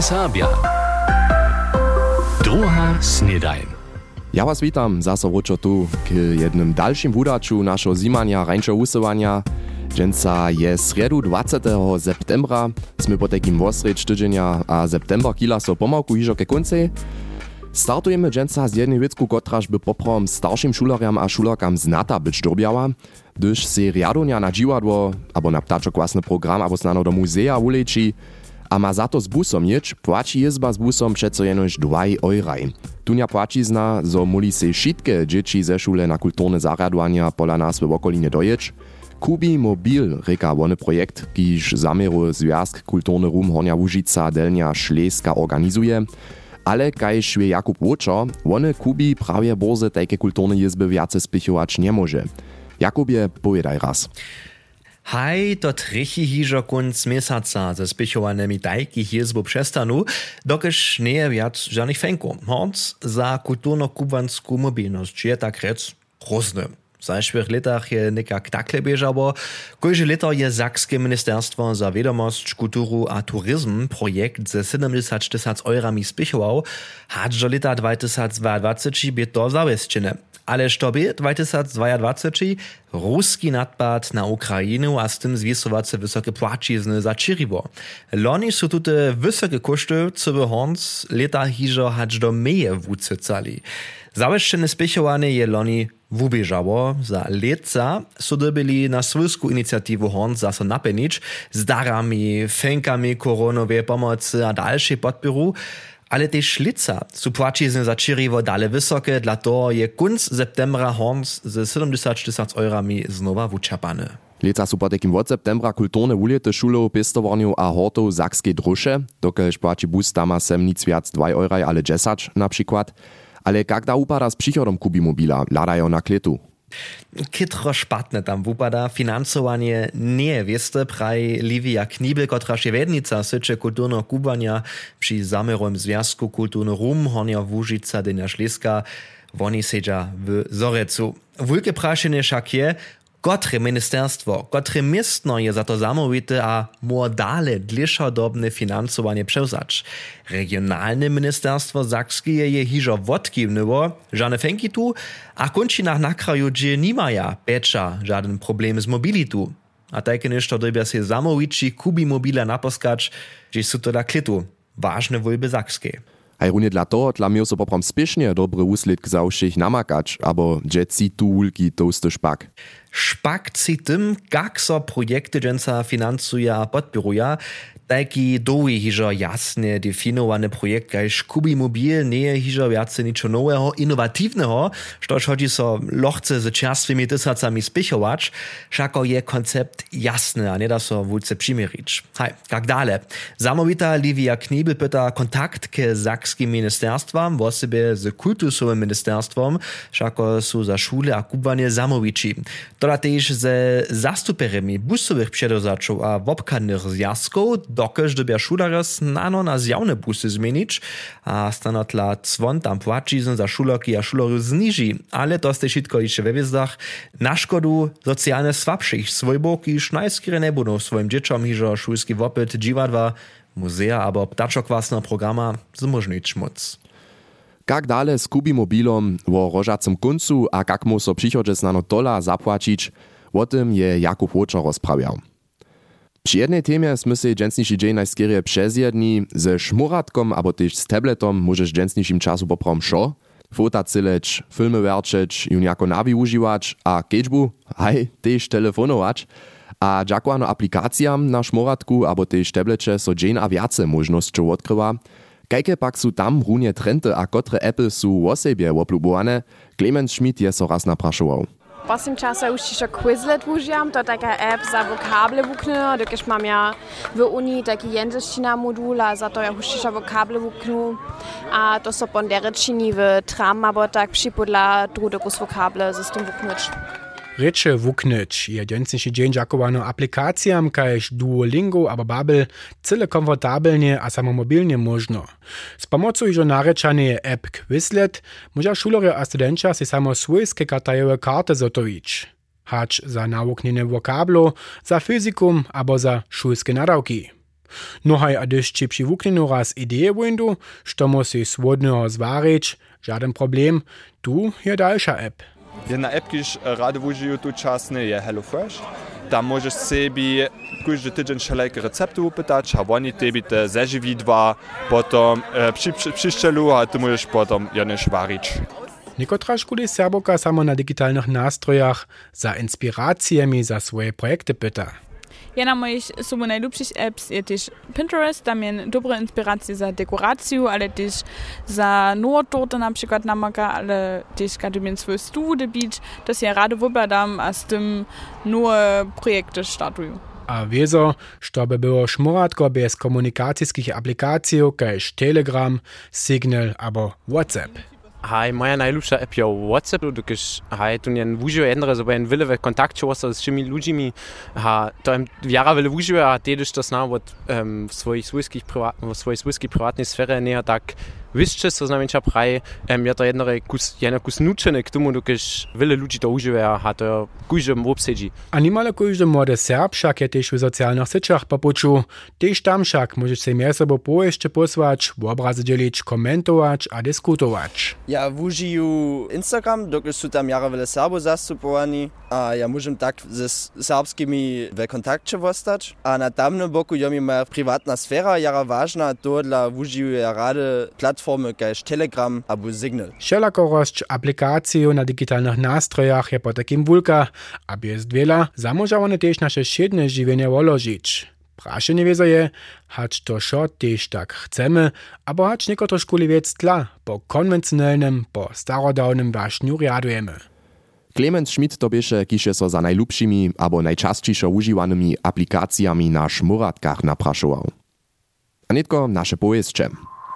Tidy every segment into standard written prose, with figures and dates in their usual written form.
Serbia. Druga snedajn. Ja was witam, zase wróćo tu k jednym dalszym wudaču našo zimania rańšo usywania. Dżęca je sredu 20. septembra, sme po takim wosreć tydzienia a september kila so pomałku hižo ke koncej. Startujemy dżęca z jednej wicku, kotraż by poprom starszym šulerjam a šulerkam znata być dobiała, gdyż se riadonia na dziwadło, abo na ptaczok własny program, abo snano do muzea uleci, a ma za to z busom jeć, płaci jezba z busom přeco jenož 2 euraj. Tunia płacizna, zo muli se šitke dzieci ze šule na kulturne zarjadovania pola nas w okolinie dojeć. Kubi Mobil, reka wony projekt, kiż zamieru Związk Kulturny Rum Hornia Łužica Delnia Šleska organizuje. Ale kajż je Jakub Łočo, wony Kubi prawie borze takie kulturne jezby wiace spichować nie może. Jakubie, powiedaj raz. Haj, to trechi hižo kunc mesaca ze spichowanymi tajkich jezbów przestanu, dokeż nie je wiac żadnych fenków. Honc za kulturno-kubansku mobilność je tak rec rozny. W zeszłych latach je nekak takle bieżało. Kojże leto je Sakskie Ministerstwo za Wiadomość, Kulturu a Turizm projekt ze 70 000 eurami spichował, hadżo leta 2022 by to zawieścine. Ale sztobie 2022 ruski nadpad na Ukrainu a z tym zwisowace wysokie płacizny zacziriło. Loni są tutaj wysokie koszty, co by honc leta hiżo hacz do meje wucycali. Zaweszczene spichowanie je loni wubieżało. Za leca so dobili na swojsku inicjatywę honc zaso napenić z darami, fenkami koronowej pomocy a dalszej podporu. Ale też lica su płacizny zacziriwo dale wysokie, dla to je kunc septembra honc ze 70 000 eurami znowa wučerpany. Leca su po takim od septembra kulturne wulety šulov, pistowarniów a hortów Sakskiej Drusze, dokelž płaci bus tama sem nic viac 2 euraj, ale 10 na przykład. Ale jak da upada z przychodom Kubi Mobila, ladają na kletu. Kitro špatne tam wupada, finansowanie nie wieste, praj Livia Knibel, kotraż je wednica syče kulturno kubania przy zamerowym Związku Kulturny Rum Hornia Łužica Delnia Šleska, woni sedza w Zorecu. Wulke praszenie však je, kotre ministerstwo, kotre miestno je za to zamówite a modale dlišodobne finansowanie przełzacz. Regionalne ministerstwo Sakskie je hižo wodkiwnyło, żadne fenki tu, a končinach na kraju dże nimaja pecza żaden problem z mobilitu. A takie ništo dobia se zamowici Kubi Mobila naposkacz, że su to da klitu. Ważne wólby Sakskie. Aj runie dla toho, dla mnie so poprom spiesznie dobry úsledk za všich namakać, abo dżeci tu wulki toasty špak. Špak ci tym, jak so projekty dżęca finansuje a podpiruje, taki doły hižo jasne definowane projekt, kajż Kubi Mobil nie je hižo wiace niczo nowego, innowatywnego, štož hodzi so lochce z čerstvými tysacami spichować, šako je koncept jasny, a nie da so wulce přimirić. Haj, jak dale. Zamówita Livia Knibel pyta kontakt ke Sakskim ministerstwom, w osobie z kultusowym ministerstwom, šako su za šule a kubanie zamowici. Toda też ze zastuperemi busowych předozačov a wobkadnych zjazków, dokež dobia šulerja snano na zjawne busy zmienić, a stanotla cwon tam płacizn za šulerki a šulerju zniži, ale to ste šitko ište we wiezdach na škodu socjalne słabszych swojbok i šnajskire ne budu svojim dječom hižo šulski wopyt, dživadva, muzea abo ptačokvasna programa zmožnić moc. Jak dale z Kubi Mobilom wo rožacym koncu a jak mu so přichodže snano tola zapłacić, o tym je Jakub Łočo rozprawiał. Przy jednej temie sme se dżęsniši dzień najskierie przezjedni, ze szmuratkom abo też z tabletom możesz dżęsnišim czasu poprom šo, fota cyleć, filmy werčeć, jun jako nawi užiwać, a kedźbu, haj, też telefonować, a dżakłano aplikacjam na szmuratku abo też tablecie so dzień a wiace możnością odkrywa. Kajke pak su tam runie trendy a kotre Apple su osebie oplubowane, Clemens Schmidt je so raz napraszował. Poslednjem času už tišo Quizlet užijam, to je taka app za vokable vuknu, dokež mam ja v Unii taki języczina modul, a za to ja už tišo vokable vuknu, a to so pon derečini v tram, abo tak připodla drudokus vokable z tym vuknuć. Reče wuknyć je dżęsniši dzień dżakowano aplikacjam, kajż Duolingo abo Babel cyle komfortabelnie a samomobilnie można. Z pomocą iżo narečanej app Quizlet może šulerje a studenča si samo swojskie kartajowe karty zotowić. Hacz za nawuknienie wokablo, za fyzikum abo za szulskie nadawki. No haj, a když ci přivuknenu raz ideje windu, što musi swodného zvarić, žaden problem, tu je dalsza app. Jedna app, kiž rado užijú tu časne, je HelloFresh. Tam môžeš sebi každý týždeň všelijaké recepty upýtať a oni tebi to zažividva, potom přišťalu a ty môžeš potom jedneš variť. Niekotra školy Serboka samo na digitalnych nastrojach za inspiracjami za swoje projekty pyta. Jedna mojich sobą najlepszych apps je też Pinterest, tam je dobre inspiracje za dekorację, ale też za nowe torty na przykład namaka, ale też kiedy swój stół bić, to się rado wybadam, a z tym nowe projekty startują. A wieso, żeby było szmuratko bez komunikacyjskich aplikacji, kaž Telegram, Signal albo WhatsApp. Hej, moja najlepsza app je WhatsApp, dokiż tu nie użyję jednego, żeby en wiele kontakt się z tymi ludźmi, to em wiara wiele użyję, a też to zna od swojej swiskiej prywatnej sfery nie tak wiszcze, co znamená praj, ja to jedno kus nučené k tomu, dokiż wiele ludzi to użyje, a to każdy obsedzi. A nimale każdy młody Serb však je też w socjalnych sieciach popuczu, też tam však możesz się między sobą jeszcze posłać, obrazy dzielić, komentować a dyskutować. Ja użyję Instagram, dokiż są tam jara wiele Serbów zastupowani, a ja muszę tak ze serbskimi w kontakcie zostać, a na tamnym boku je mi moja prywatna sfera jara ważna, to dla użyję ja rady platformy kaž Telegram albo Signal. Wszelakorość aplikacji na digitalnych nastrojach je po takim wulka, a bez wiela zamóża one też nasze siedne żywienie wolożyć. Praszenie wiezo je, hać to šo też tak chcemy, abo hać niekotre szkuli wiec tla, po konwencjonalnym, po starodawnym waśniu riadujemy. Clemens Schmidt to bieše, kiž je so za najlubšimi abo najčastejšo užiwanými aplikacjami na šmuratkach naprašoval. A netko naše powieszcze.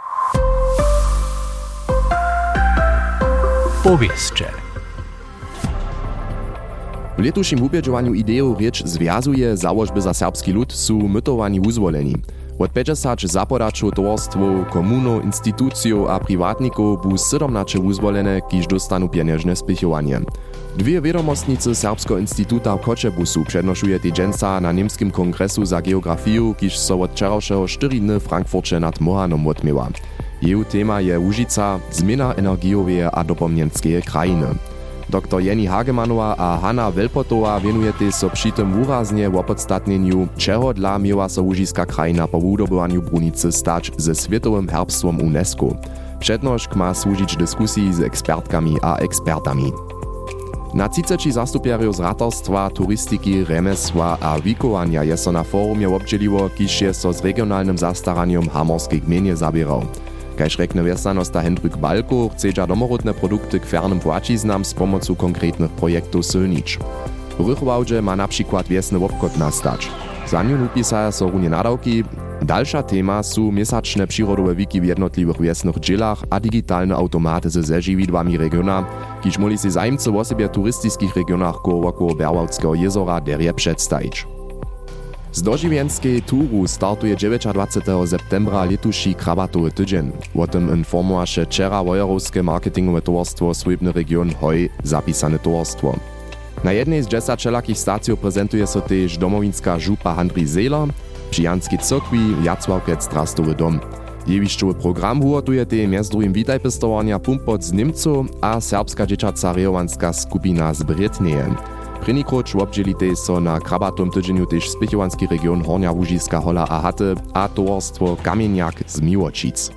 W letušim ubiežovanju ideju rieč związuje założby za serbski lud su mytowani uzwoleni. Od 50 zapodačov towarstwów, komunów, instytucjów a prywatników bu 17 uzwolene, kiž dostanu pieniężne spychowanie. Dwie wiadomostnicy Serbskiego Instytuta w Koczebusu przednoszuje tydzienca na niemskim kongresu za geografię, kiž so od wczorajszego 4 dni w Frankfurcie nad Mohanom odmiewa. Jej tema je Łužica, zmiana energiowej a dopomnienskie krajiny. Dr. Jenny Hagemanowa a Hanna Welpotowa wienujete so przy tym wyraznie w opodstatnieniu, czego dla miała so łužiska krajina po wydobywaniu brunicy stać ze Światowym Herbstwom UNESCO. Przednoszk ma służyć dyskusji z ekspertkami a ekspertami. Na 30 zastupierów z ratarstwa, turystyki, remesła a wikowania je so na forumie obdzieliło, kiž je so z regionalnym zastaraniem hamorskiej gminie zabierał. Kaž rekne wjesanosta Hendrik Balko, chcedža domorodne produkty k fernym płaciznam z pomocą konkretnych projektów sylnić. W Rychwałdźe ma na przykład wiesny obchod nastać. Za nią upisaja so runie nadawki. Dalsza tema su mesaczne przyrodowe wiki w jednotliwych wiesnych dżilach a digitalne automaty ze zežividłami regiona, kiž moli si zajmcy w osobie turystyckich regionach koło Berwałckiego jezora derje przedstawić. Z dožiwienskiej turu startuje 29. septembra letuši krabatowy tydzień. O tym informowaše wczera wojerowskie marketingowe towarstwo Swojbny region Hoj zapisane towarstwo. Na jednej z 10 wszelakich stacjów prezentuje so też domowinska żupa Handry Zela, przy Janskiej Cokwi Jacławkec Trastowy dom. Jewišćowy program uwotuje te między drugim witajpestowania Pumpot z Niemców a serbska dzieciaca rejowanska skupina z Brytnieje. Prynikoć obdzielite so na krabatom tydzieniu też spychowanski region Hornia Łužiska Hola a Haty a towarstwo Kamieniak z Miłočic.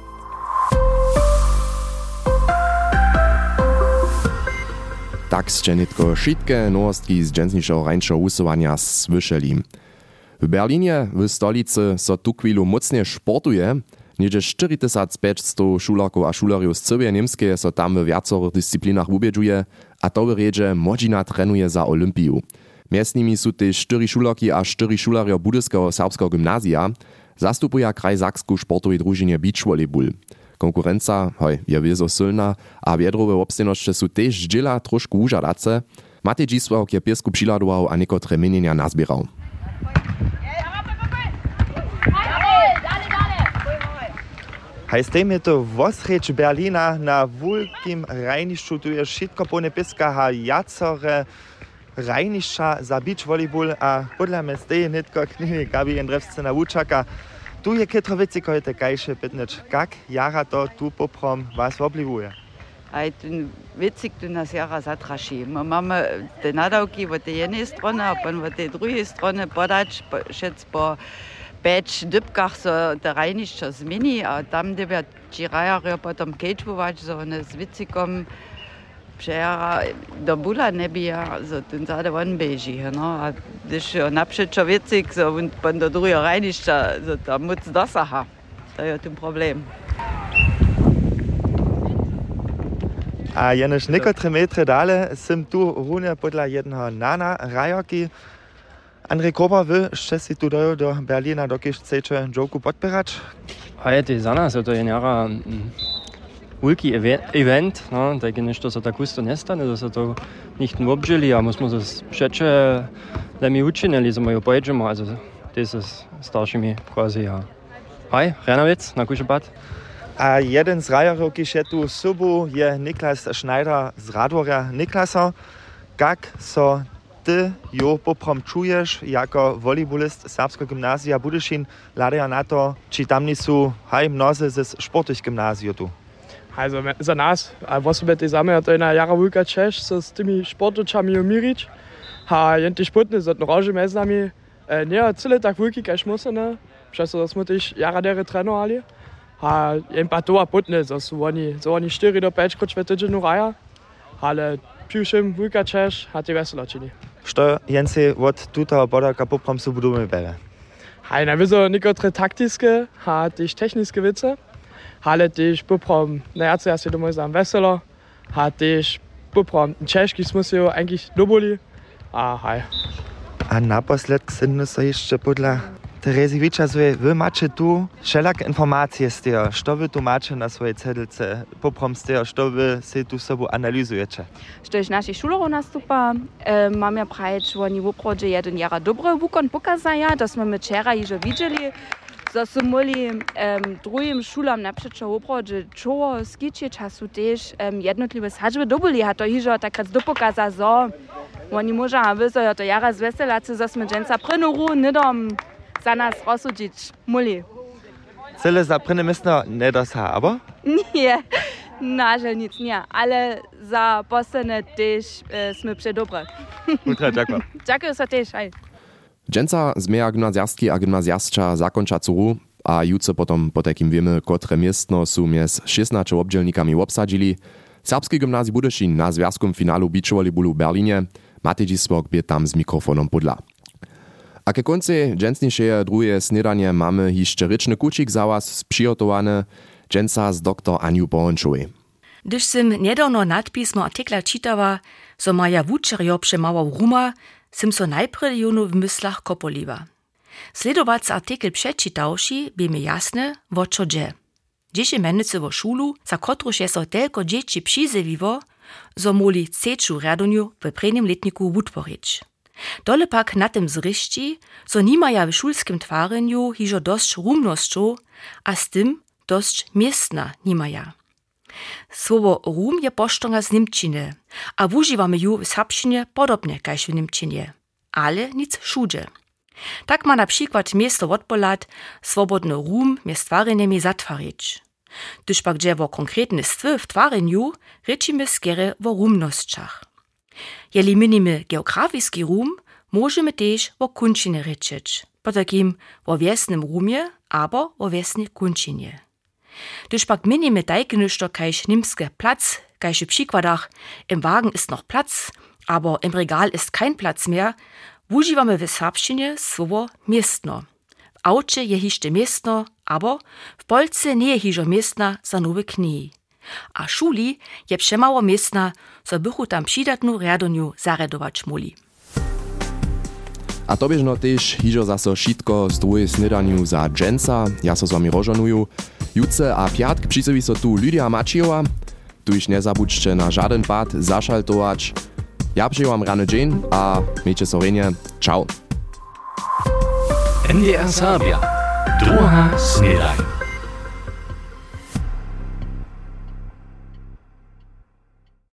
Tak ste netko šitke nowostki z dżensnišeho rańšeho usuwania słyszeli. W Berlinie, w stolicy, so tu chwilu mocnie sportuje. Niedzie 4500 šularków a šularjów z całej Niemskiej so tam w wiacorych dyscyplinach ubiedżuje, a to w riedzie Modzina trenuje za Olympiu. Między nimi są też 4 šularki a 4 šularjo Budyskiego serbskiego gimnazja, zastupuje kraj Saksku sportowej drużynie beach volleyball. Konkurenca je wiezo silna, a wiadrowe obstejnošće su też dźela trošku užadace. Matej Dzisławk je piesku přiladoval a niekotre menjenja nazbieral. Hajstejmy to wosreč Berlina na wulkim rajnišću, tu je šitko pone piska ha jacore rajnišća za beach volleyball, a podle mnie steje netko knjige Gabi Jendrevsce na Vučaka, Tu je kitro wicy, koje te kajše pitneć. Kak jara to tu poprom was oblivuje? A ten witzig, du nas jara zatraši. Mamy te nadawki od tej jednej strony, a pan od tej drugiej strony podać, šec po 5 dybkach so te rajnišća zmieni, a tam gdzie ci rajary potom kečvovač, so one s witzigom przejara do bula nebija, so ten zade on beži, no, a když napřečo witzig, so und pan do druhého rajnišća, so tam moc dosaha. To je ten problem. A jenož nekotre metre dale sim tu rune podla jednoho nana rajoki. Andrej Kober wy, jeszcze si tu do Berlina, dokiż chcecie joku podpierać? A je to za nas, to je njara veliki event, no, da je nešto so tako isto nestane, da se to nicht nur obžili, a musimo se přeče, da mi učinili, da jo pojeđemo, also to se staršimi quasi, ja. Hej, Renavec, na kušepat. A jeden z rajarov, ki je tu v sobu, je Niklas Schneider z Radworja. Niklasa, kak so ty jo poprom čuješ jako volejbolist Serbskiego gimnazja Budyšin, ladaja na to, či tam nisu mnoze ze sportich gimnaziju tu? Also za nas, a osobe te zame, to je na jara velika češ, so s tými športočami umirič. A jenti športni, so rože med nami, nie cele tak veliki, kaž musene, přesto smo tež jara dere trénovali. A jen pa to a potne, so oni 4 do 5 krát týdženu raja, ale pivšem velika češ, a te veselo čini. Što jenci od tuto bodaka poprom su budeme bere? Hej, na viso nekotre taktiske, a tež techniske wice, ale tež poprom, ja si domov sam veselo, a tež poprom češki smo se jo eigentlich doboli, a hej. A naposled ksynny so jeszcze podla Terezjewicza, wy macie tu wszelak informacje z tego, co wy tu macie na swojej cedlce, poprom z tego, co wy się tu sobą analizujecie. Što iš našich šulerov nastupa, mamy praječ, oni v oprođe jeden jara dobre vukon pokazaja, da smo my včera již vidjeli, da su moli drugim šulam napřečo v oprođe čovo skiče času tež jednotliwe sadžbe dobili, a to již takrat dopokaza, zo oni moža vyzo, to jara zveselaci, zo sme dženca prenoru, nedom za nas rozsudzić muli. Cele za prynne miestno nie dosa, aber? Nie, nažal nic nie, ale za postane też sme przedobre. Ultra, dziękuję. Dziękuję za też, hej. Dżęca zmieja gimnazjastki a gimnazjastča zakończa curu, a jutro potom po takim wiemy, kotre miestno su mies 16 obdzielnikami obsadzili. Serbski gimnazji Budyšin na związkom finalu bičovali bulu v Berlinie, Matej Spok bie tam z mikrofonom podla. A ke konce dżęsniejsze drugie snedanie mamy jeszcze ryczny kucik za was przygotowane, dżęca z dr Aniu Bohončovej. Gdyż sim niedawno nadpismo artikla czytała, so maja wučerjo przemałał ruma, sim so najprve junu w myślach kopoliwa. Sledovac artikel przeczytałši by mi jasne, wo čo dże. Dzieci mennice wo szulu, za kotruż je so telko dzieci przyzewiwo, so moli ceču radoniu w prednim letniku wutworić. Dole pak na tym zryści, so nimaja w szulskim twarenju hižo dość rumnosću, a z tym dość miestna nimaja. Słowo rum je poštonga z Nimčine, a wuživamy ju w serbščine podobnie kaž w Nimčinie, ale nic šuđe. Tak ma na przykład miesto wotpolat swobodny rum mjez twarenjemi zatvarić. Gdyż pak dże wo konkretne stwy w twarenju, rečimy skere wo rumnosćach. Jeli minimy geografiski rum, możemy też wo kunčine rečeć, po takim wo wiesnym rumie, abo wo wiesnej kunčinie. Gdyż pak minimy tajkeništo kaž nimske Platz, kaž w przykładach im Wagen ist noch Platz, aber im Regal ist kein Platz mehr, wuživamy w serbščine słowo miestno. W aucie je hište miestno, aber w Polsce nie je hižo miestna za nowe knihi. A šuli je przemało miestna, so bychu tam přidatnu radoniu zaredować muli. A to biežno też hižo zaso šitko z druhej snedaniu za dżęca, ja so z wami rožonuju. Jutce a piatk přisovi so tu Lydia Mačiova, tu iž nezabudźcie na žaden pad zašaltować. Ja przyjęłam rany dzień, a miejcie sorenie. Ciao. NDR Serbia. Druga snedaj.